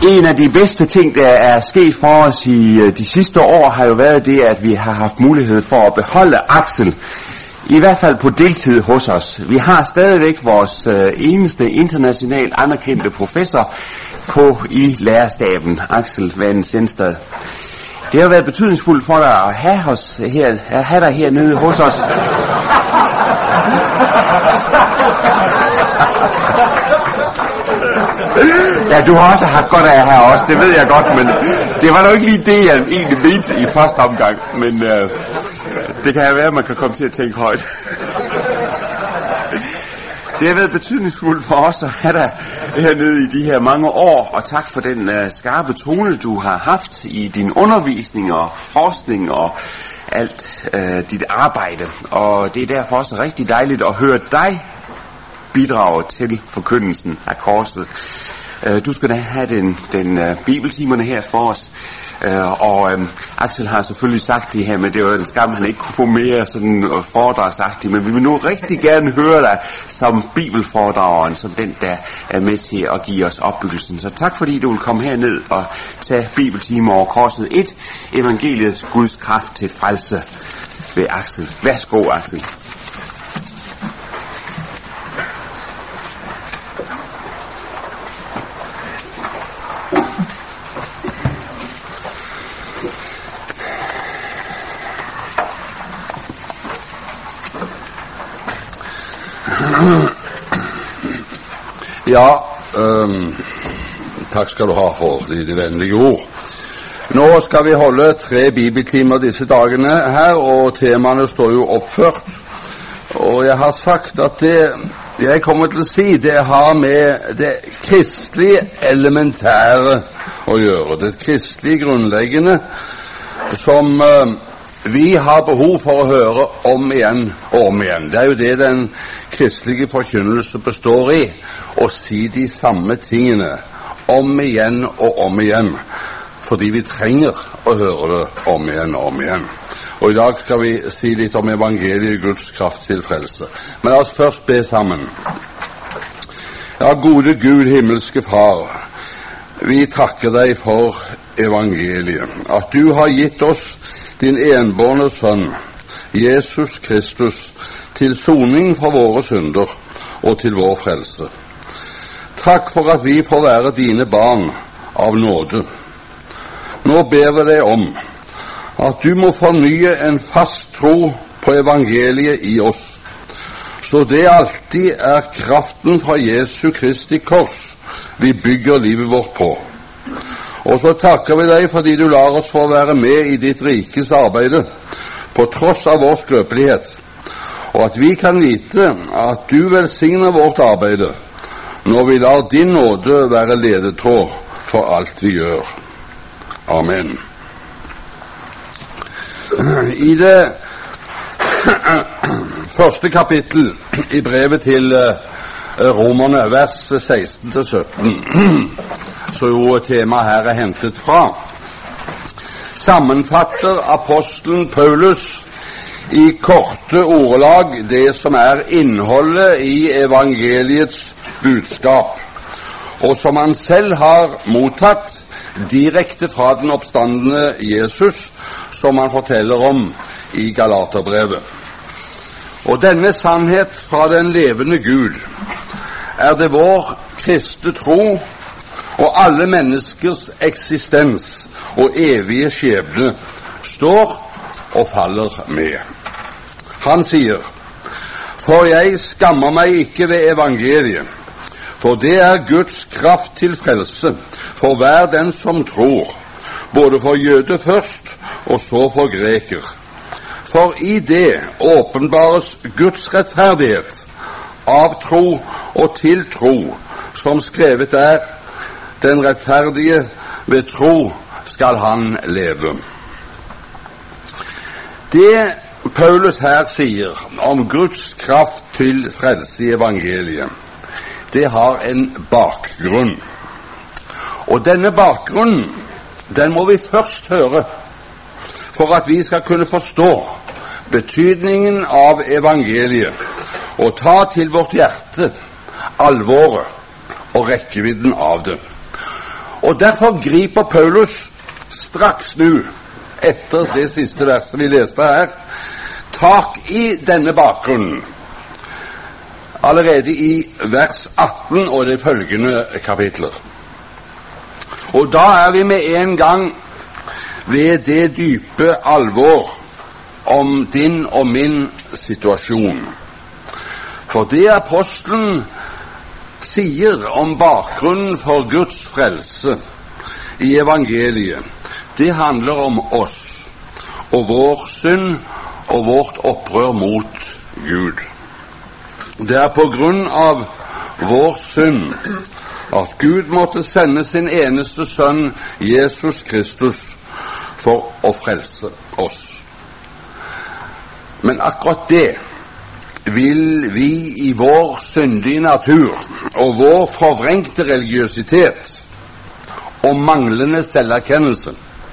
En af de bedste ting, der er sket for os i de sidste år, har jo været det, at vi har haft mulighed for at beholde Axel, i hvert fald på deltid hos os. Vi har stadigvæk vores eneste internationalt anerkendte professor i lærerstaben, Axel Van Sindstad. Det har været betydningsfuldt for dig at have dig hernede hos os. Ja, du har også haft godt af her også, det ved jeg godt, men det var nok ikke lige det, jeg egentlig mente i første omgang, men det kan jo være, at man kan komme til at tænke højt. Det har været betydningsfuldt for os at have dig hernede i de her mange år, og tak for den skarpe tone, du har haft i din undervisning og forskning og alt dit arbejde. Og det er derfor også rigtig dejligt at høre dig bidrage til forkyndelsen af korset. Du skal da have den bibeltimerne her for os. Axel har selvfølgelig sagt det her, men det var en skam, han ikke kunne få mere sådan foredragsagtigt, men vi vil nu rigtig gerne høre dig som bibelforedrageren, som den, der er med til at give os opbyggelsen. Så tak fordi du vil komme herned og tage bibeltimer over korset 1, evangeliets Guds kraft til frelse ved Axel. Værsgo, Axel. Ja, takk skal du ha for de vennlige ord. Nå skal vi holde 3 bibeltimer disse dagene her, og temaene står jo oppført. Og jeg har sagt at det jeg kommer til å si, det har med det kristelige elementære å gjøre. Det kristelige grunnleggende som vi har behov for å høre om igjen og om igjen. Det er jo det den kristelige forkynnelse består i, å si de samme tingene om igjen og om igjen, fordi vi trenger å høre det om igjen og om igjen. Og i dag skal vi si litt om evangeliet, Guds kraft til frelse. Men la oss først be sammen. Ja, gode Gud, himmelske Far, vi takker deg for evangeliet, at du har gitt oss din enbårne sønn, Jesus Kristus, til soning for våre synder og til vår frelse. Takk for at vi får være dine barn av nåde. Nå ber vi deg om at du må fornye en fast tro på evangeliet i oss, så det alltid er kraften fra Jesu Kristi kors vi bygger livet vårt på. Og så takker vi deg fordi du lar oss få være med i ditt rikes arbeide, på tross av vår skrøpelighet, og at vi kan vite at du velsigner vårt arbeide, når vi lar din nåde være ledetråd for alt vi gjør. Amen. I det første kapittel i brevet til Romerne, vers 16-17, så jo temaet her er hentet fra, sammenfatter apostelen Paulus i korte ordelag det som er innholdet i evangeliets budskap, og som han selv har mottatt direkte fra den oppstandende Jesus, som han forteller om i Galaterbrevet. Og denne sannhet fra den levende Gud er det vår kristne tro og alle menneskers eksistens og evige skjebne står og faller med. Han sier, for jeg skammer meg ikke ved evangeliet, for det er Guds kraft til frelse for hver den som tror, både for jøde først og så for greker. For i det åpenbares Guds rettferdighet av tro og til tro, som skrevet er, den rettferdige ved tro skal han leve. Det Paulus her sier om Guds kraft til frelse i evangeliet, det har en bakgrunn. Og denne bakgrunnen, den må vi først høre, for at vi skal kunne forstå betydningen av evangeliet og ta til vårt hjerte alvoret og rekkevidden av det. Og derfor griper Paulus straks nu, etter det siste verset vi leste her, tak i denne bakgrunnen, allerede i vers 18 og de følgende kapitler. Og da er vi med en gang ved det dype alvor om din og min situasjon. For det apostelen sier om bakgrunnen for Guds frelse i evangeliet, det handler om oss og vår synd og vårt opprør mot Gud. Det er på grunn av vår synd at Gud måtte sende sin eneste sønn, Jesus Kristus, for å frelse oss. Men akkurat det vil vi i vår syndige natur og vår forvrengte religiøsitet og manglende selverkjennelse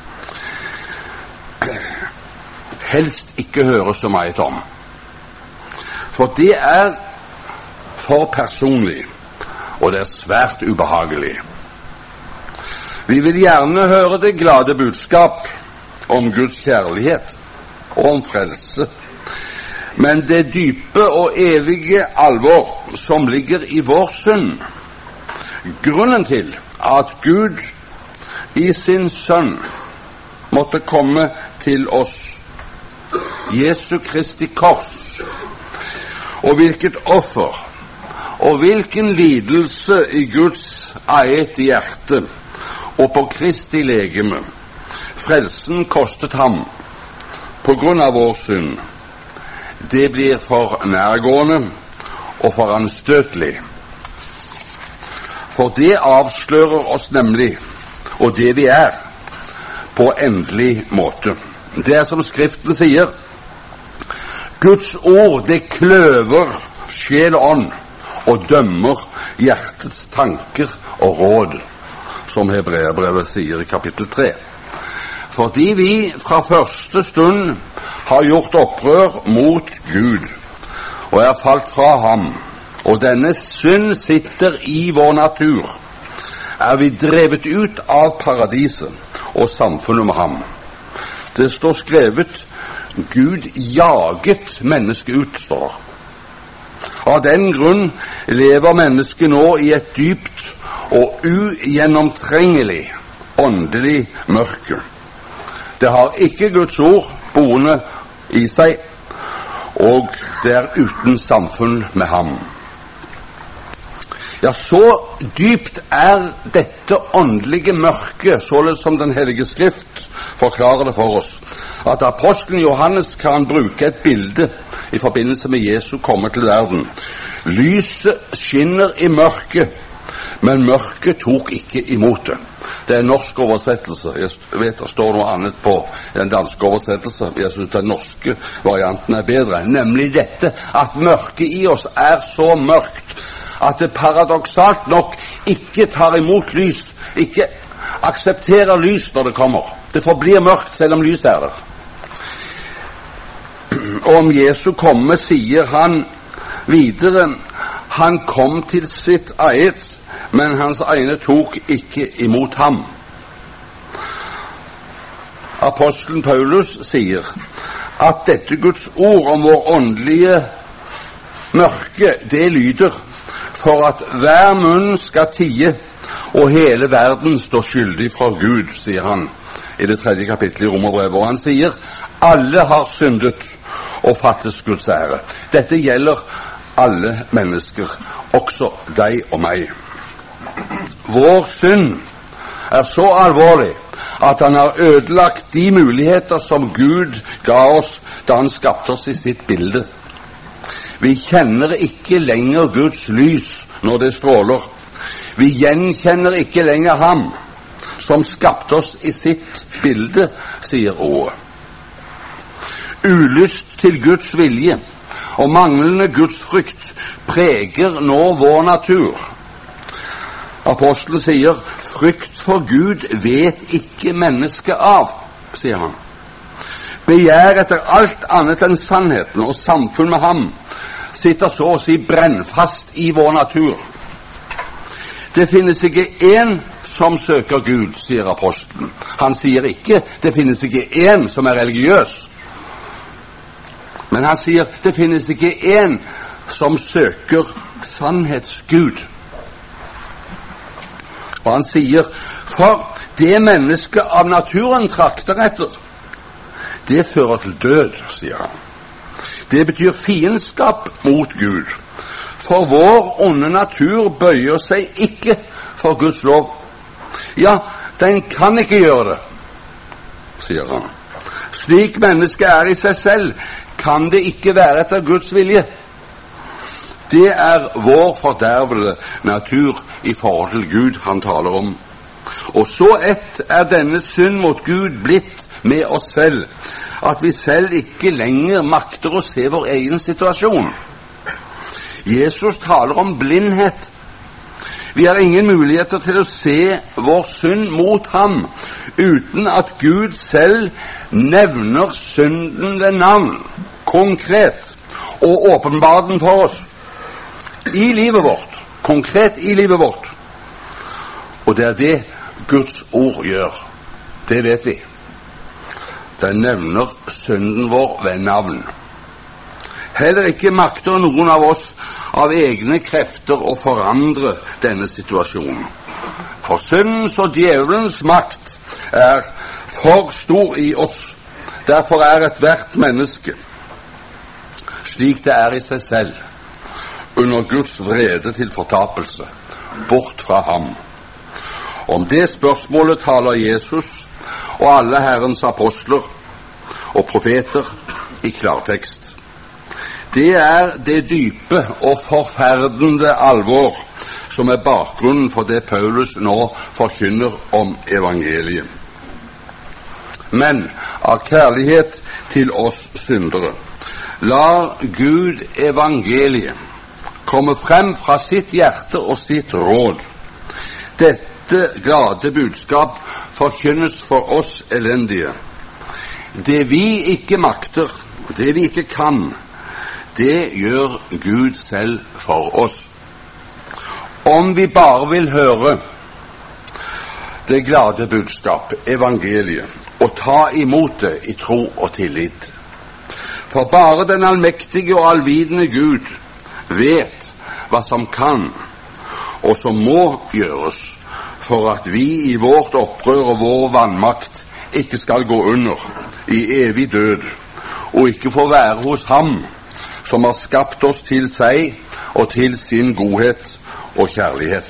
helst ikke høre så meget om. For det er for personlig, og det er svært ubehagelig. Vi vil gjerne høre det glade budskap om Guds kjærlighet og om frelse, men det dype og evige alvor som ligger i vår synd, grunnen til at Gud i sin sønn måtte komme til oss, Jesu Kristi kors, og hvilket offer og hvilken lidelse i Guds eget hjerte og på Kristi legeme frelsen kostet ham på grunn av vår synd, det blir for nærgående og for anstøtelig. For det avslører oss nemlig, og det vi er, på endelig måte. Det er som Skriften sier, Guds ord, det kløver sjel og ånd, og dømmer hjertets tanker og råd, som Hebreerbrevet sier i kapittel 3. Fordi vi fra første stund har gjort opprør mot Gud, og er falt fra ham, og denne synd sitter i vår natur, er vi drevet ut av paradiset og samfunnet med ham. Det står skrevet, Gud jaget mennesket ut, står det. Av den grunn lever mennesket nå i et dypt og ugjennomtrengelig åndelig mørke. Det har ikke Guds ord boende i seg, og det er uten samfunn med ham. Ja, så dypt er dette åndelige mørket, således som den hellige skrift forklarer det for oss, at apostelen Johannes kan bruke et bilde i forbindelse med Jesu komme til verden. Lyset skinner i mørket, men mørket tok ikke imot det. Det er en norsk oversettelse. Jeg vet det står noe annet på den danske oversettelse. Jeg synes den norske varianten er bedre. Nemlig dette, at mørket i oss er så mørkt at det paradoksalt nok ikke tar imot lys, ikke aksepterer lys når det kommer. Det forblir mørkt selv om lys er der. Og om Jesu komme sier han videre, han kom til sitt eget, men hans egne tok ikke imot ham. Apostelen Paulus sier at dette Guds ord om vår åndelige mørke, det lyder for at hver munn skal tie, og hele verden står skyldig fra Gud, sier han i det 3. kapittelet i Romerbrevet, og han sier alle har syndet og fattes Guds ære. Dette gjelder alle mennesker, også deg og meg. Vår synd er så alvorlig at han har ødelagt de muligheter som Gud ga oss da han skapte oss i sitt bilde. Vi kjenner ikke lenger Guds lys når det stråler. Vi gjenkjenner ikke lenger ham som skapte oss i sitt bilde, sier ordet. Ulyst til Guds vilje og manglende Guds frykt preger nå vår natur. Apostelen sier, frykt for Gud vet ikke mennesket av, sier han. Begjær etter alt annet enn sannheten og samfunn med ham sitter så å si brennfast i vår natur. det finnes ikke en som søker Gud, sier apostelen. Han sier ikke det finnes ikke en som er religiøs, men han sier det finnes ikke en som søker sannhetsgud. Og han sier, for det mennesket av naturen trakter etter, det fører til død, sier han. Det betyr fiendskap mot Gud. For vår onde natur bøyer seg ikke for Guds lov. Ja, den kan ikke gjøre det, sier han. Slik mennesket er i seg selv, kan det ikke være etter Guds vilje. Det er vår fordervede natur i forhold til Gud han taler om. Og så ett er denne synd mot Gud blitt med oss selv, at vi selv ikke lenger makter å se vår egen situasjon. Jesus taler om blindhet. Vi har ingen muligheter til å se vår synd mot ham, uten at Gud selv nevner synden ved navn, konkret, og åpenbarer den for oss i livet vårt, konkret i livet vårt. Og det er det Guds ord gjør. Det vet vi. Den nevner synden vår ved navn. Heller ikke makter noen av oss av egne krefter å forandre denne situasjonen. For syndens og djevelens makt er for stor i oss. Derfor er ethvert menneske, slik det er i seg selv, under Guds vrede til fortapelse, bort fra ham. Om det spørsmålet taler Jesus og alle Herrens apostler og profeter i klartekst. Det er det dype og forferdende alvor som er bakgrunnen for det Paulus nå forkynner om evangeliet. Men av kjærlighet til oss syndere lar Gud evangeliet komme frem fra sitt hjerte og sitt råd. Dette glade budskap forkynnes for oss elendige. Det vi ikke makter, det vi ikke kan, det gjør Gud selv for oss. Om vi bare vil høre det glade budskap, evangeliet, og ta imot det i tro og tillit. For bare den allmektige og allvidende Gud vet hva som kan og som må gjøres for at vi i vårt opprør og vår vannmakt ikke skal gå under i evig død og ikke få være hos ham som har skapt oss til seg og til sin godhet og kjærlighet.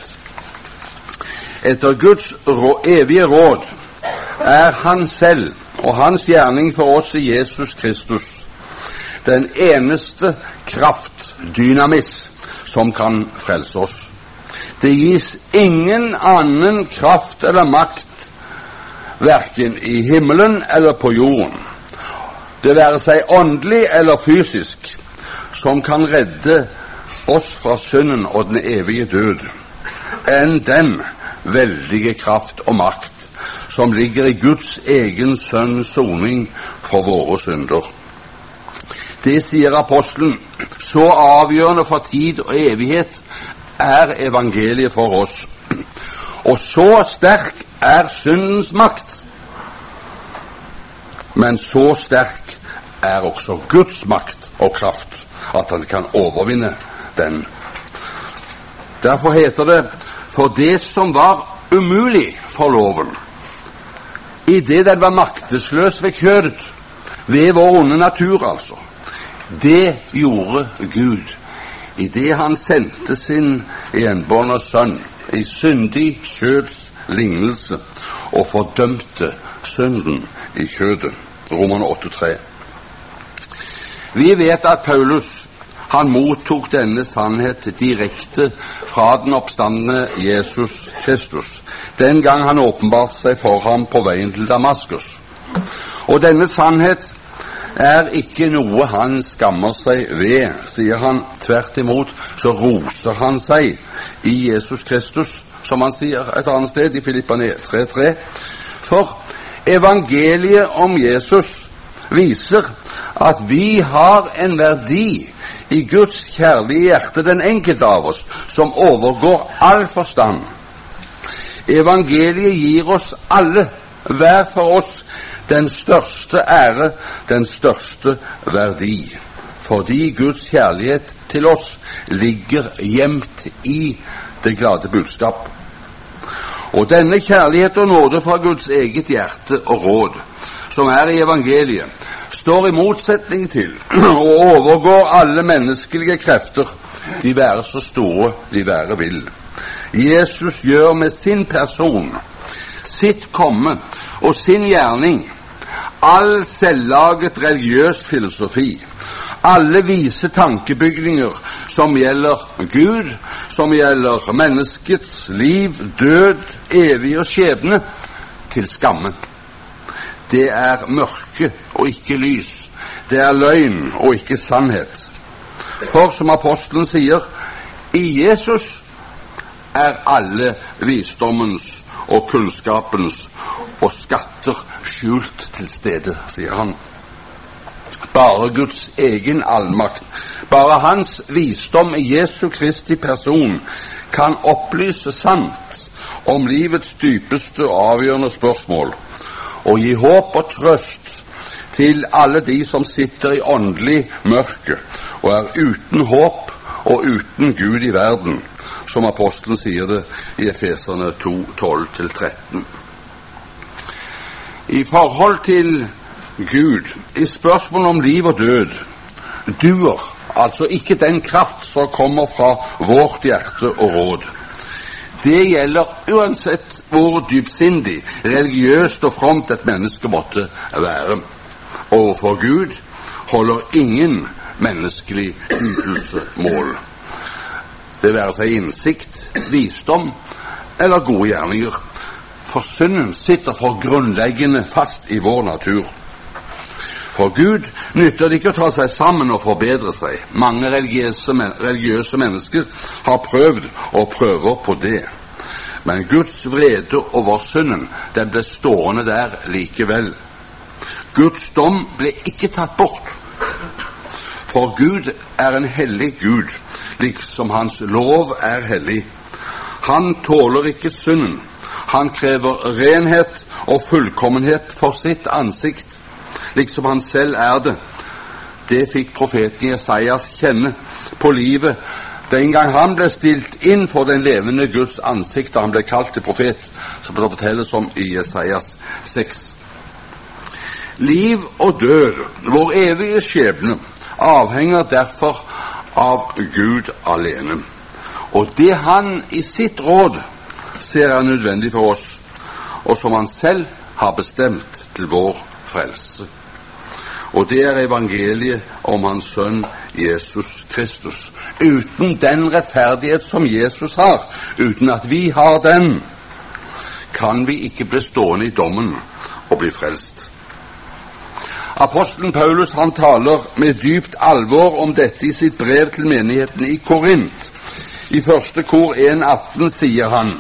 Etter Guds evige råd er han selv og hans gjerning for oss i Jesus Kristus den eneste kraft, dynamis, som kan frelse oss. Det gis ingen annen kraft eller makt, hverken i himmelen eller på jorden, det være seg åndelig eller fysisk, som kan redde oss fra synden og den evige død, enn den veldige kraft og makt som ligger i Guds egen sønns soning for våre synder. Det sier apostelen, så avgjørende for tid og evighet er evangeliet for oss. Og så sterk er syndens makt. Men så sterk er også Guds makt og kraft, at han kan overvinne den. Derfor heter det, for det som var umulig for loven, i det den var maktesløs ved kjødet, ved vår onde natur altså, det gjorde Gud i det han sendte sin enbårne sønn i syndig kjøds lignelse og fordømte synden i kjødet. Romerne 8:3. Vi vet at Paulus han mottok denne sannhet direkte fra den oppstandende Jesus Kristus, den gang han åpenbarte seg for ham på veien til Damaskus. Og denne sannhet er ikke noe han skammer seg ved, sier han. Tvert imot så roser han seg i Jesus Kristus, som han sier et annet sted i Filipperne 3:3. For evangeliet om Jesus viser at vi har en verdi i Guds kjærlige hjerte den enkelte av oss, som overgår all forstand. Evangeliet gir oss alle, hver for oss, den største ære, den største verdi, fordi Guds kjærlighet til oss ligger gjemt i det glade budskap. Og denne kjærlighet og nåde fra Guds eget hjerte og råd, som er i evangeliet, står i motsetning til og overgår alle menneskelige krefter, de være så store de være vil. Jesus gjør med sin person, sitt komme og sin gjerning all selvlaget religiøs filosofi, alle vise tankebygninger som gjelder Gud, som gjelder menneskets liv, død, evig og skjebne, til skamme. Det er mørke og ikke lys. Det er løgn og ikke sannhet. For som apostelen sier, i Jesus er alle visdommens og kunnskapens og skatter skjult til stede, sier han. Bare Guds egen allmakt, bare hans visdom i Jesu Kristi person kan opplyse sant om livets dypeste og avgjørende spørsmål, og gi håp og trøst til alle de som sitter i åndelig mørke og er uten håp og uten Gud i verden, som apostelen sier det i Efeserne 2:12-13. I forhold til Gud, i spørsmål om liv og død, duer altså ikke den kraft som kommer fra vårt hjerte og råd. Det gjelder uansett hvor dypsindig, religiøst og fromt et menneske måtte være. Overfor Gud holder ingen menneskelig ytelse mål. Det være seg innsikt, visdom eller gode gjerninger. For synden sitter for grunnleggende fast i vår natur. For Gud nytter det ikke å ta seg sammen og forbedre seg. Mange religiøse mennesker har prøvd og prøver på det. Men Guds vrede over synden, den ble stående der likevel. Guds dom ble ikke tatt bort. For Gud er en hellig Gud, liksom hans lov er hellig. Han tåler ikke synden. Han krever renhet og fullkommenhet for sitt ansikt, liksom han selv er det. Det fikk profeten Jesajas kjenne på livet den gang han ble stilt inn for den levende Guds ansikt da han ble kalt til profet, som det fortelles om i Jesajas 6. Liv og død, vår evige skjebne, avhenger derfor av Gud alene. Og det han i sitt råd ser er nødvendig for oss, og som han selv har bestemt til vår frelse. Og det er evangeliet om hans sønn Jesus Kristus. Uten den rettferdighet som Jesus har, uten at vi har den, kan vi ikke bli stående i dommen og bli frelst. Apostelen Paulus, han taler med dypt alvor om dette i sitt brev til menigheten i Korint. I 1. Kor 1:18 sier han: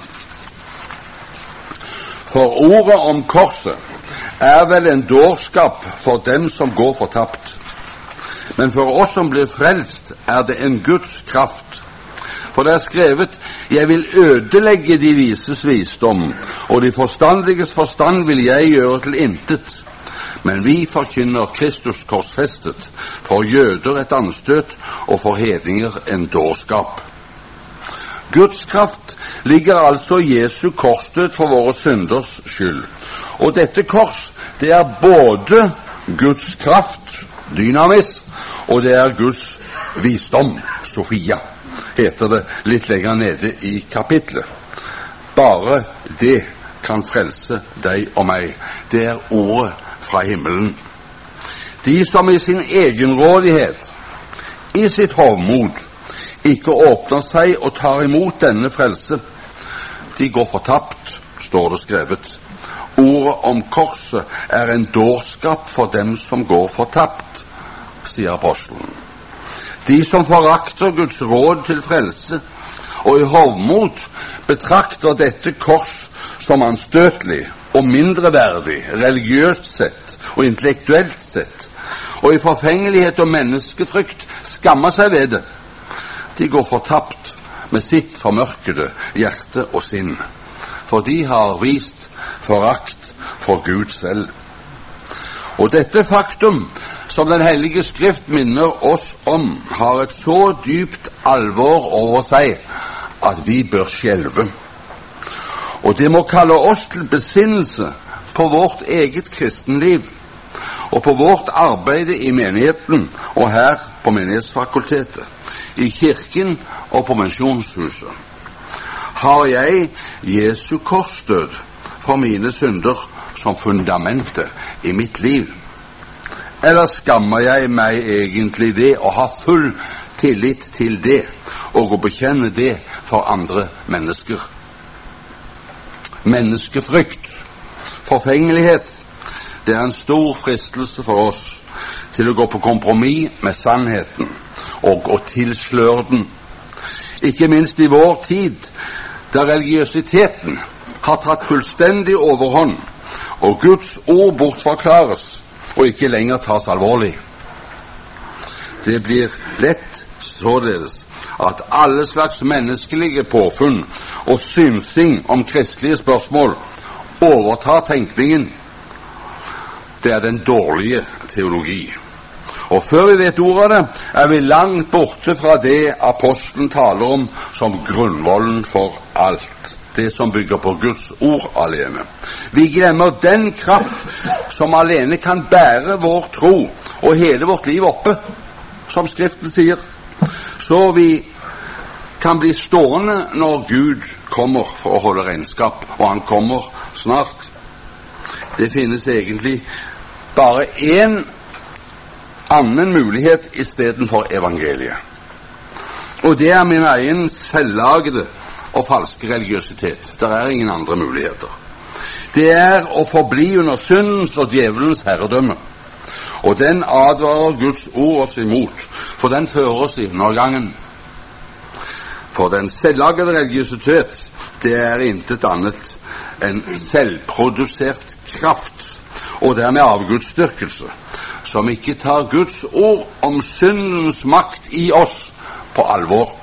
For ordet om korset er vel en dårskap for dem som går fortapt. Men for oss som blir frelst, er det en Guds kraft. For det er skrevet: Jeg vil ødelegge de vises visdom, og de forstandiges forstand vil jeg gjøre til intet. Men vi forkynner Kristus korsfestet, for jøder et anstøt, og for hedninger en dårskap. Guds kraft ligger altså i Jesu korsdød for våre synders skyld. Og dette kors, det er både Guds kraft, dynamis, og det er Guds visdom, Sofia, heter det litt lenger nede i kapitlet. Bare det kan frelse deg og meg. Det er ordet fra himmelen. De som i sin egenrådighet, i sitt hovmod, ikke åpner seg og tar imot denne frelse, de går fortapt, står det skrevet. Ordet om korset er en dårskap for dem som går fortapt, sier apostelen. De som forakter Guds råd til frelse, og i hovmod betrakter dette kors som anstøtelig og mindreverdig, religiøst sett og intellektuelt sett, og i forfengelighet og menneskefrykt skammer seg ved det. De går fortapt med sitt formørkede hjerte og sinn, for de har vist forakt for Gud selv. Og dette faktum, som Den hellige Skrift minner oss om, har et så dypt alvor over seg at vi bør skjelve. Og det må kalle oss til besinnelse på vårt eget kristenliv, og på vårt arbeid i menigheten og her på menighetsfakultetet, i kirken og på misjonshuset. Har jeg Jesu korsdød for mine synder som fundamentet i mitt liv? Eller skammer jeg meg egentlig ved å ha full tillit til det og å bekjenne det for andre mennesker? Menneskefrykt, forfengelighet, det er en stor fristelse for oss til å gå på kompromiss med sannheten og å tilsløre den. Ikke minst i vår tid, der religiøsiteten har tatt fullstendig overhånd, og Guds ord bortforklares og ikke lenger tas alvorlig. Det blir lett således at alle slags menneskelige påfunn og synsing om kristelige spørsmål overtar tenkningen. Det er den dårlige teologi. Og før vi vet ordet av det, er vi langt borte fra det apostelen taler om som grunnvollen for alt. Det som bygger på Guds ord alene. Vi glemmer den kraft som alene kan bære vår tro og hele vårt liv oppe, som Skriften sier. Så vi kan bli stående når Gud kommer for å holde regnskap, og han kommer snart. Det finnes egentlig bare en annen mulighet i stedet for evangeliet. Og det er min egen selvlagede og falske religiøsitet. Det er ingen andre muligheter. Det er å forbli under syndens og djevelens herredømme. Og den advarer Guds ord oss imot, for den fører oss i undergangen. For den selvlagede religiøsitet, det er intet annet enn selvprodusert kraft, og dermed avgudsdyrkelse, som ikke tar Guds ord om syndens makt i oss på alvor.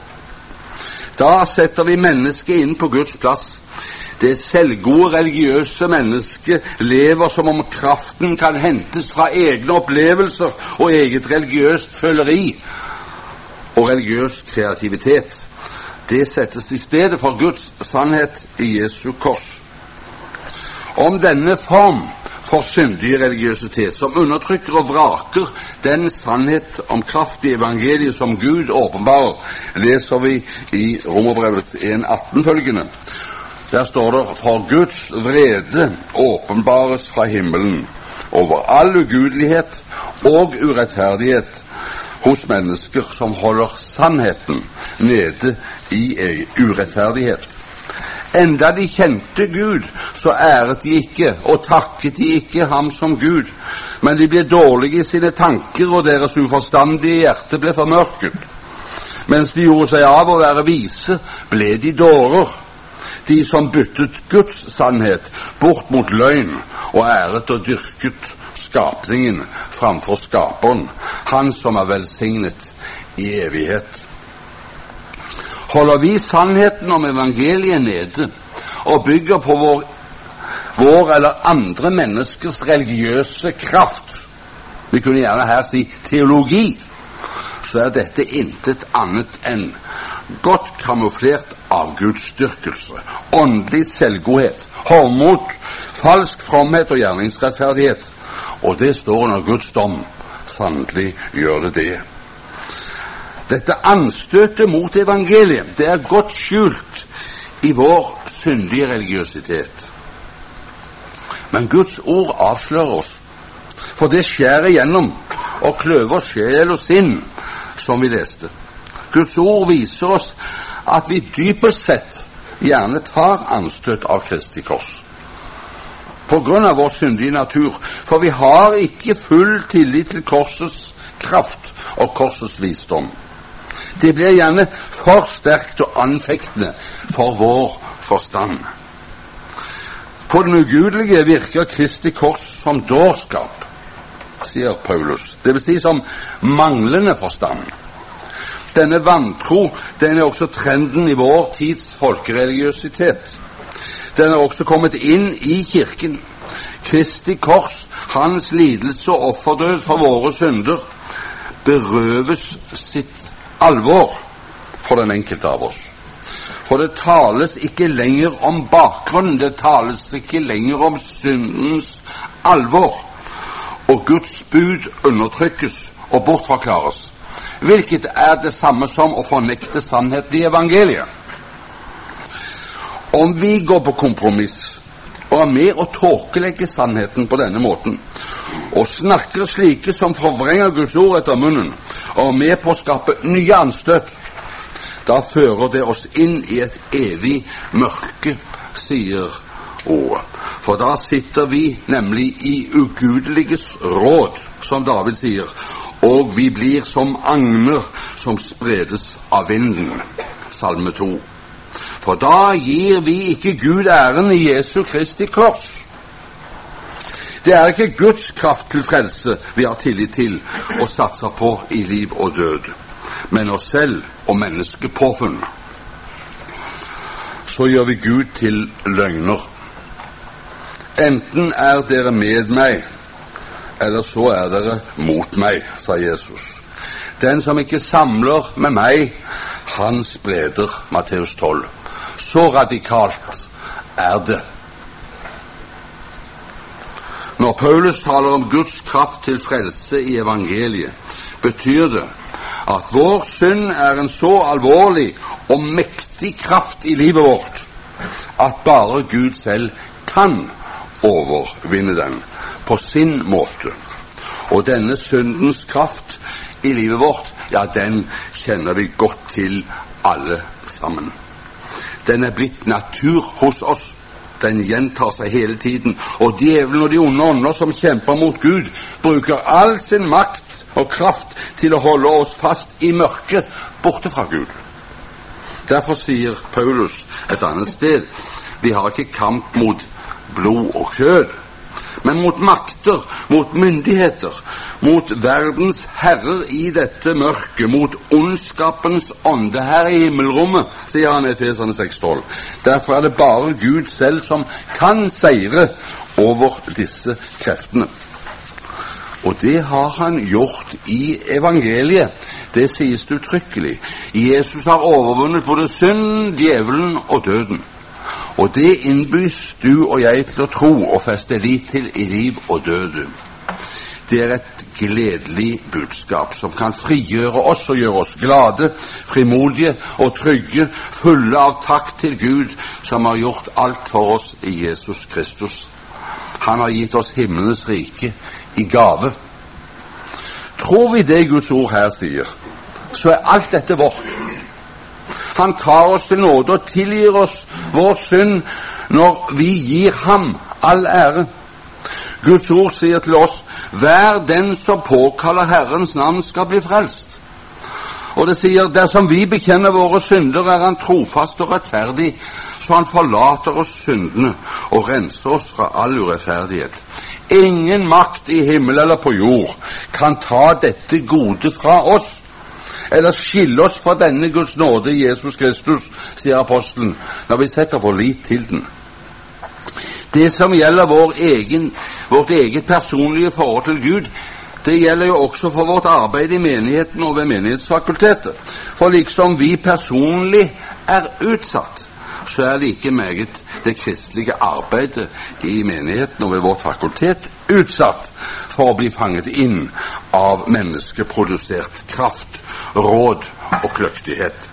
Da setter vi mennesket inn på Guds plass. Det selvgode religiøse mennesket lever som om kraften kan hentes fra egne opplevelser og eget religiøst føleri og religiøs kreativitet. Det settes i stedet for Guds sannhet i Jesu kors. Om denne form for syndig religiøsitet, som undertrykker og vraker den sannhet om kraft i evangeliet som Gud åpenbarer, leser vi i Romerbrevet 1,18 følgende. Der står det: for Guds vrede åpenbares fra himmelen over all ugudelighet og urettferdighet hos mennesker som holder sannheten nede i urettferdighet. Enda de kjente Gud, så æret de ikke og takket de ikke ham som Gud, men de ble dårlige i sine tanker, og deres uforstandige hjerte ble formørket. Mens de gjorde seg av å være vise, ble de dårer, de som byttet Guds sannhet bort mot løgn, og æret og dyrket skapningen framfor skaperen, han som er velsignet i evighet. Holder vi sannheten om evangeliet nede og bygger på vår eller andre menneskers religiøse kraft, vi kunne gjerne her si teologi, så er dette intet annet enn godt kamuflert avgudsdyrkelse, åndelig selvgodhet, hovmod, falsk fromhet og gjerningsrettferdighet. Og det står under Guds dom. Sannelig gjør det det. Dette anstøtet mot evangeliet, det er godt skjult i vår syndige religiøsitet. Men Guds ord avslører oss, for det skjærer igjennom og kløver sjel og sinn, som vi leste. Guds ord viser oss at vi dypest sett gjerne tar anstøt av Kristi kors, på grunn av vår syndige natur, for vi har ikke full tillit til korsets kraft og korsets visdom. Det blir gjerne for sterkt og anfektende for vår forstand. På den ugudelige virker Kristi kors som dårskap. sier Paulus. Det vil si som manglende forstand. Denne vantro, den er også trenden i vår tids folkereligiøsitet. Den er også kommet inn i kirken. Kristi kors, hans lidelse og offerdød for våre synder, berøves sitt alvor for den enkelte av oss. For det tales ikke lenger om bakgrunnen, det tales ikke lenger om syndens alvor, og Guds bud undertrykkes og bortforklares, hvilket er det samme som å fornekte sannheten i evangeliet. Om vi går på kompromiss og er med å tåkelegge sannheten på denne måten, og snakker slike som forvrenger Guds ord etter munnen, og er med på å skape nye anstøt, da fører det oss inn i et evig mørke, sier ordet. For da sitter vi nemlig i ugudeliges råd, som David sier, og vi blir som agner som spredes av vinden. Salme 2. For da gir vi ikke Gud æren i Jesu Kristi kors. Det er ikke Guds kraft til frelse vi har tillit til og satser på i liv og død, men oss selv og menneskepåfunn. Så gjør vi Gud til løgner. Enten er dere med meg, eller så er dere mot meg, sa Jesus. Den som ikke samler med meg, han spreder, Matteus 12. Så radikalt er det. Når Paulus taler om Guds kraft til frelse i evangeliet, betyr det at vår synd er en så alvorlig og mektig kraft i livet vårt at bare Gud selv kan overvinne den på sin måte. Og denne syndens kraft i livet vårt, ja, den kjenner vi godt til alle sammen. Den er blitt natur hos oss. Den gjentar seg hele tiden, og djevelen og de onde ånder som kjemper mot Gud, bruker all sin makt og kraft til å holde oss fast i mørket borte fra Gud. Derfor sier Paulus et annet sted, vi har ikke kamp mot blod og kjød, men mot makter, mot myndigheter, mot verdens herrer i dette mørket, mot ondskapens ånde her i himmelrommet, sier han i Efeserne 6:12. Derfor er det bare Gud selv som kan seire over disse kreftene. Og det har han gjort i evangeliet. Det sies det uttrykkelig. Jesus har overvunnet både synd, djevelen og døden. Og det innbys du og jeg til å tro og feste lit til i liv og død. Det er et gledelig budskap som kan frigjøre oss og gjøre oss glade, frimodige og trygge, fulle av takk til Gud som har gjort alt for oss i Jesus Kristus. Han har gitt oss himmelens rike i gave. Tror vi det Guds ord her sier, så er alt dette vårt. Han tar oss til nåde og tilgir oss vår synd når vi gir ham all ære. Guds ord sier til oss, hver den som påkaller Herrens navn skal bli frelst. Og det sier, dersom vi bekjenner våre synder, er han trofast og rettferdig, så han forlater oss syndene og renser oss fra all urettferdighet. Ingen makt i himmel eller på jord kan ta dette gode fra oss, eller skille oss fra denne Guds nåde i Jesus Kristus, sier apostelen, når vi setter vår lit til den. Det som gjelder vårt eget personlige forhold til Gud, det gjelder jo også for vårt arbeid i menigheten og ved menighetsfakultetet. For liksom vi personlig er utsatt, så er like meget det kristelige arbeidet i menigheten og ved vårt fakultet utsatt for å bli fanget inn av menneskeprodusert kraft, råd og kløktighet.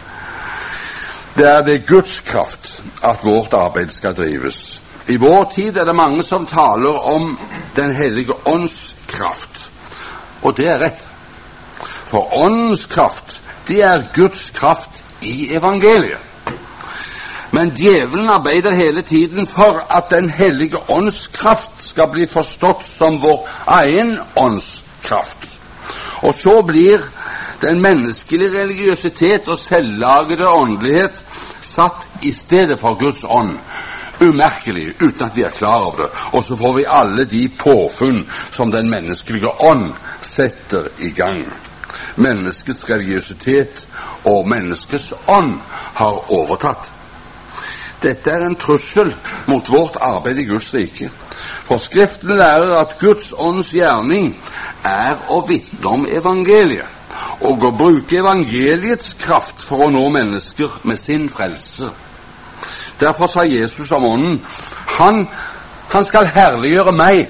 Det er ved Guds kraft at vårt arbeid skal drives. I vår tid er det mange som taler om Den hellige ånds kraft, og det er rett. For åndens kraft, det er Guds kraft i evangeliet. Men djevelen arbeider hele tiden for at Den hellige ånds kraft skal bli forstått som vår egen ånds kraft. Og så blir den menneskelige religiøsitet og selvlagede åndelighet satt i stedet for Guds ånd, umerkelig, uten at vi klar over det. Og så får vi alle de påfunn som den menneskelige ånd setter i gang. Menneskets religiøsitet og menneskets ånd har overtatt. Dette en trussel mot vårt arbeid i Guds rike. For Skriften lærer at Guds ånds gjerning å vitne om evangeliet, og å bruke evangeliets kraft for å nå mennesker med sin frelse. Derfor sa Jesus om ånden, han skal herliggjøre meg,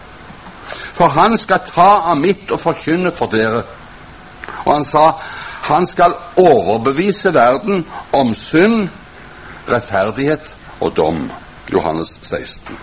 for han skal ta av mitt og forkynne for dere. Og han sa, han skal overbevise verden om synd, rettferdighet og dom. Johannes 16.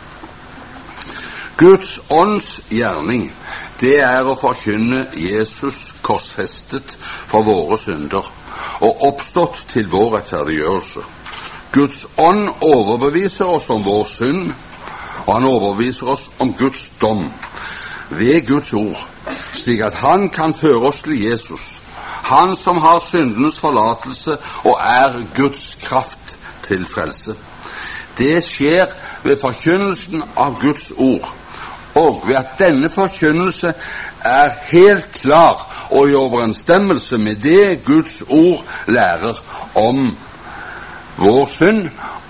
Guds ånds gjerning, det å forkynne Jesus korsfestet for våre synder og oppstått til vår rettferdiggjørelse. Guds ånd overbeviser oss om vår synd, og han overbeviser oss om Guds dom ved Guds ord, slik at han kan føre oss til Jesus, han som har syndens forlatelse og Guds kraft til frelse. Det skjer ved forkynnelsen av Guds ord, og ved at denne forkynnelse helt klar og i overensstemmelse med det Guds ord lærer om vår synd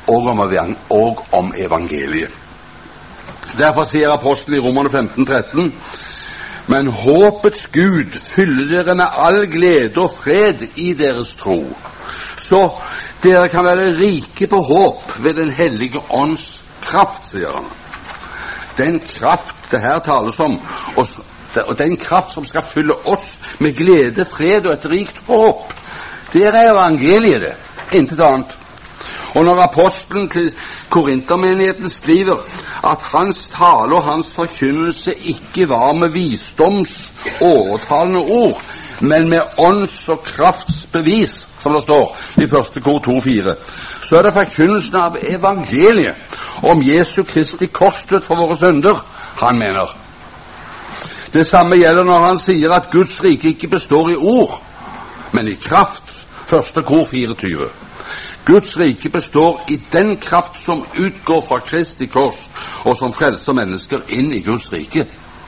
og om evangeliet. Derfor sier apostelen i Romerne 15:13, men håpets Gud fyller dere med all glede og fred i deres tro, så dere kan være rike på håp ved den hellige ånds kraft, sier han. Den kraft det her tales om, og den kraft som skal fylle oss med glede, fred og et rikt håp, det evangeliet det, intet annet. Og når apostelen til Korintermenigheten skriver at hans tale og hans forkynnelse ikke var med visdoms overtalende ord, men med ånds- og kraftsbevis, som det står i 1. Kor 2,4, så det forkynnelsen av evangeliet om Jesu Kristi korsdød for våre synder han mener. Det samme gjelder når han sier at Guds rike ikke består i ord, men i kraft. 1. Kor 24. Guds rike består i den kraft som utgår fra Kristi kors, og som frelser mennesker inn i Guds rike.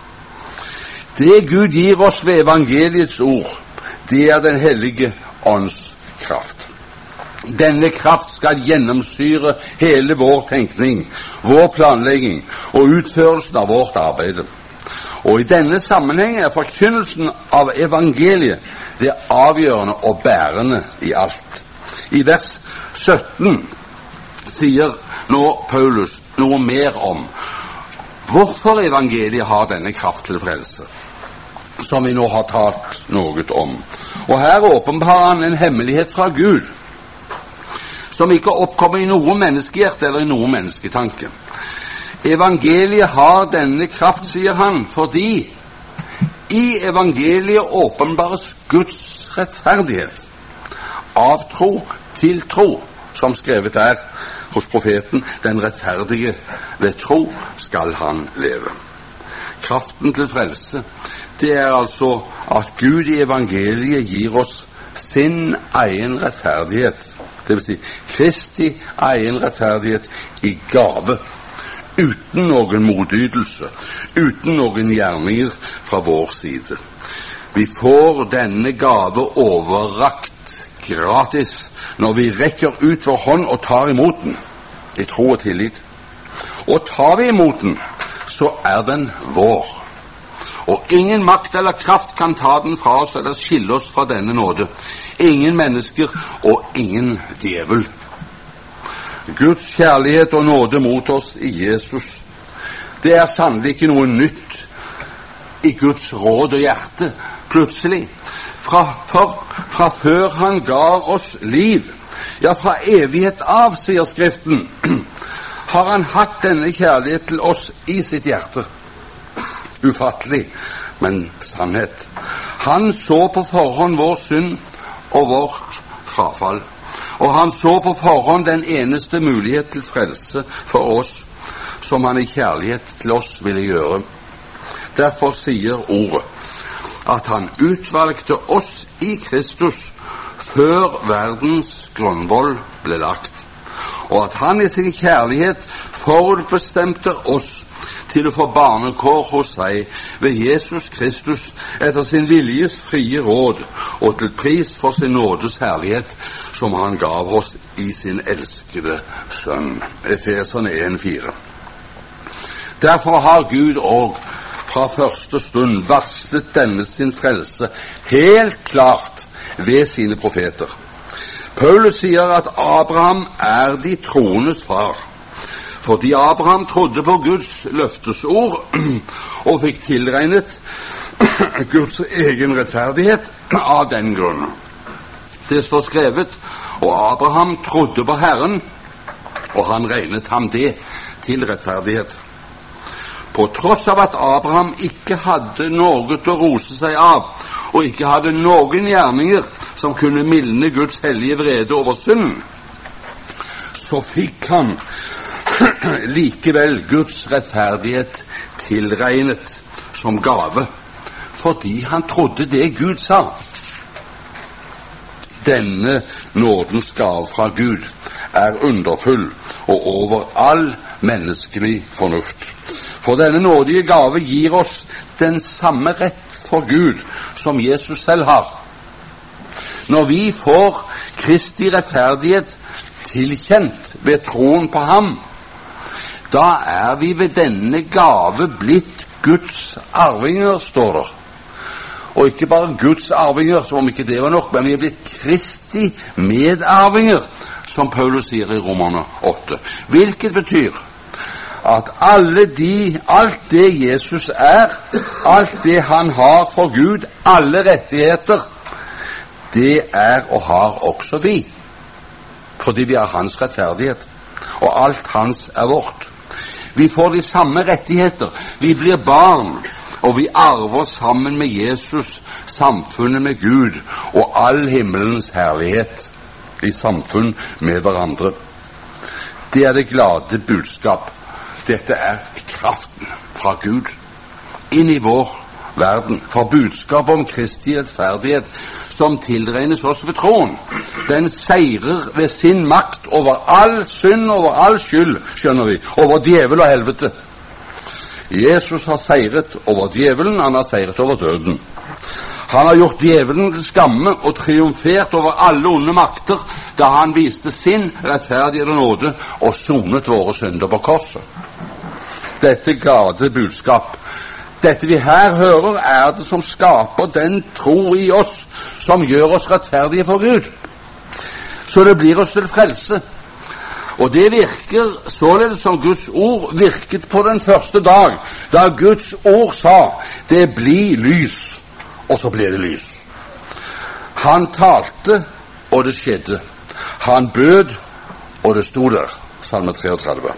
Det Gud gir oss ved evangeliets ord, det den hellige ånds kraft. Denne kraft skal gjennomsyre hele vår tenkning, vår planlegging og utførelsen av vårt arbeid. Og i denne sammenheng forkynnelsen av evangeliet det avgjørende og bærende i alt. I vers 17 sier nå Paulus noe mer om hvorfor evangeliet har denne kraft til frelse, som vi nå har talt noe om. Og her åpenbarer han en hemmelighet fra Gud, som ikke oppkommer i noe menneskehjerte eller i noe mennesketanke. Evangeliet har denne kraft, sier han, fordi i evangeliet åpenbares Guds rettferdighet. Av tro til tro, som skrevet hos profeten, den rettferdige ved tro skal han leve. Kraften til frelse, det altså at Gud i evangeliet gir oss sin egen rettferdighet, det vil si Kristi egen rettferdighet i gave, uten noen motytelse, uten noen gjerninger fra vår side. Vi får denne gave overrakt gratis når vi rekker ut vår hånd og tar imot den i tro og tillit. Og tar vi imot den, så den vår. Og ingen makt eller kraft kan ta den fra oss eller skille oss fra denne nåde. Ingen mennesker og ingen djevel. Guds kjærlighet og nåde mot oss i Jesus, det sannelig ikke noe nytt i Guds råd og hjerte plutselig. Fra før han ga oss liv, ja, fra evighet av, sier Skriften, har han hatt denne kjærlighet til oss i sitt hjerte. Ufattelig, men sannhet. Han så på forhånd vår synd og vårt frafall, og han så på forhånd den eneste mulighet til frelse for oss som han i kjærlighet til oss ville gjøre. Derfor sier ordet at han utvalgte oss i Kristus før verdens grunnvoll ble lagt. og at han i sin kjærlighet forutbestemte oss til å få barnekår hos seg ved Jesus Kristus etter sin viljes frie råd og til pris for sin nådes herlighet som han gav oss i sin elskede sønn. Efeserne 1,4. Derfor har Gud også fra første stund varslet denne sin frelse helt klart ved sine profeter. Paulus sier at Abraham er de troendes far, fordi Abraham trodde på Guds løftesord og fikk tilregnet Guds egen rettferdighet av den grunn. Det står skrevet, og Abraham trodde på Herren, og han regnet ham det til rettferdighet. På tross av at Abraham ikke hadde noe å rose seg av, og ikke hadde noen gjerninger som kunne mildne Guds hellige vrede over synden, så fikk han likevel Guds rettferdighet tilregnet som gave, fordi han trodde det Gud sa. Denne nådens gave fra Gud er underfull og over all menneskelig fornuft. For denne nådige gave gir oss den samme rett for Gud som Jesus selv har. Når vi får Kristi rettferdighet tilkjent ved troen på ham, da er vi ved denne gave blitt Guds arvinger, står det. Og ikke bare Guds arvinger, som om ikke det var nok, men vi er blitt Kristi medarvinger, som Paulus sier i Romerne 8. Hvilket betyr at alt det Jesus er, alt det han har for Gud, alle rettigheter, det er og har også vi. Fordi vi har hans rettferdighet, og alt hans er vårt. Vi får de samme rettigheter, vi blir barn, og vi arver sammen med Jesus samfunnet med Gud og all himmelens herlighet i samfunn med hverandre. Det er det glade budskap. Dette er kraften fra Gud inn i vår verden, for budskap om Kristi rettferdighet som tilregnes oss ved troen. Den seirer ved sin makt over all synd, over all skyld, skjønner vi, over djevel og helvete. Jesus har seiret over djevelen, han har seiret over døden. Han har gjort djevelen til skamme og triumfert over alle onde makter da han viste sin rettferdighet og nåde og sonet våre synder på korset. Dette glade budskap, dette vi her hører, er det som skaper den tro i oss som gjør oss rettferdige for Gud. Så det blir oss til frelse. Og det virker således som Guds ord virket på den første dag, da Guds ord sa, det blir lys, og så ble det lys. Han talte, og det skjedde. Han bød, og det stod der. Salme 33.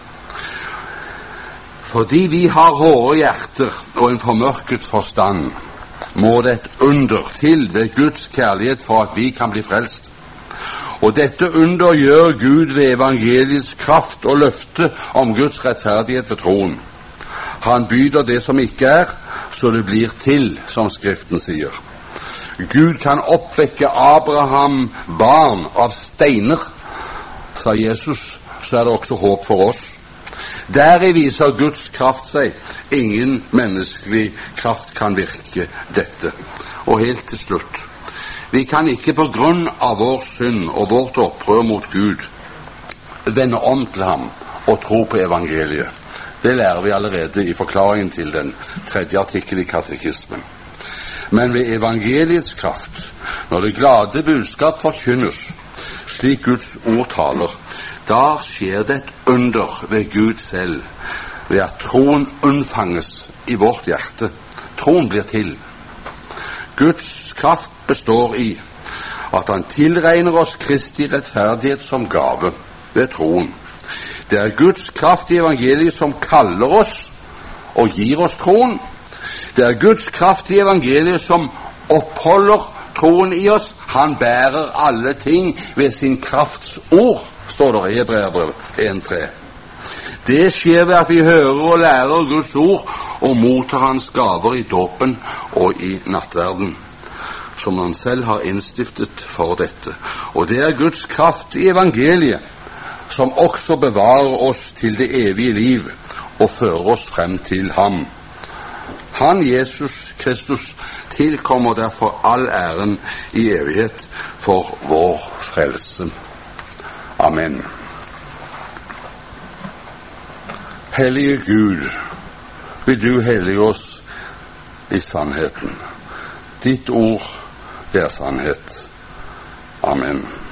Fordi vi har hårde hjerter og en formørket forstand, må det et under til ved Guds kjærlighet for at vi kan bli frelst. Og dette under gjør Gud ved evangeliets kraft og løfte om Guds rettferdighet ved troen. Han byder det som ikke er, så det blir til, som Skriften sier. Gud kan oppvekke Abraham barn av steiner, sa Jesus, så er det også håp for oss. Deri viser Guds kraft seg. Ingen menneskelig kraft kan virke dette. Og helt til slutt, vi kan ikke på grunn av vår synd og vårt opprør mot Gud vende om til ham og tro på evangeliet. Det lærer vi allerede i forklaringen til den 3. artikkel i katekismen. Men ved evangeliets kraft, når det glade budskap forkynnes, slik Guds ord taler, da skjer det et under ved Gud selv, ved at troen unnfanges i vårt hjerte. Troen blir til. Guds kraft består i at han tilregner oss Kristi rettferdighet som gave ved troen. Det er Guds kraft i evangeliet som kaller oss og gir oss troen. Det er Guds kraft i evangeliet som oppholder troen i oss. Han bærer alle ting ved sin krafts ord, står det i Hebreerbrevet 1:3. Det skjer ved at vi hører og lærer Guds ord og mottar hans gaver i dåpen og i nattverden, som han selv har innstiftet for dette. Og det er Guds kraft i evangeliet som også bevarer oss til det evige liv og fører oss frem til ham. Han, Jesus Kristus, tilkommer derfor all æren i evighet for vår frelse. Amen. Hellige Gud, vil du hellige oss i sannheten. Ditt ord, det er sannhet. Amen.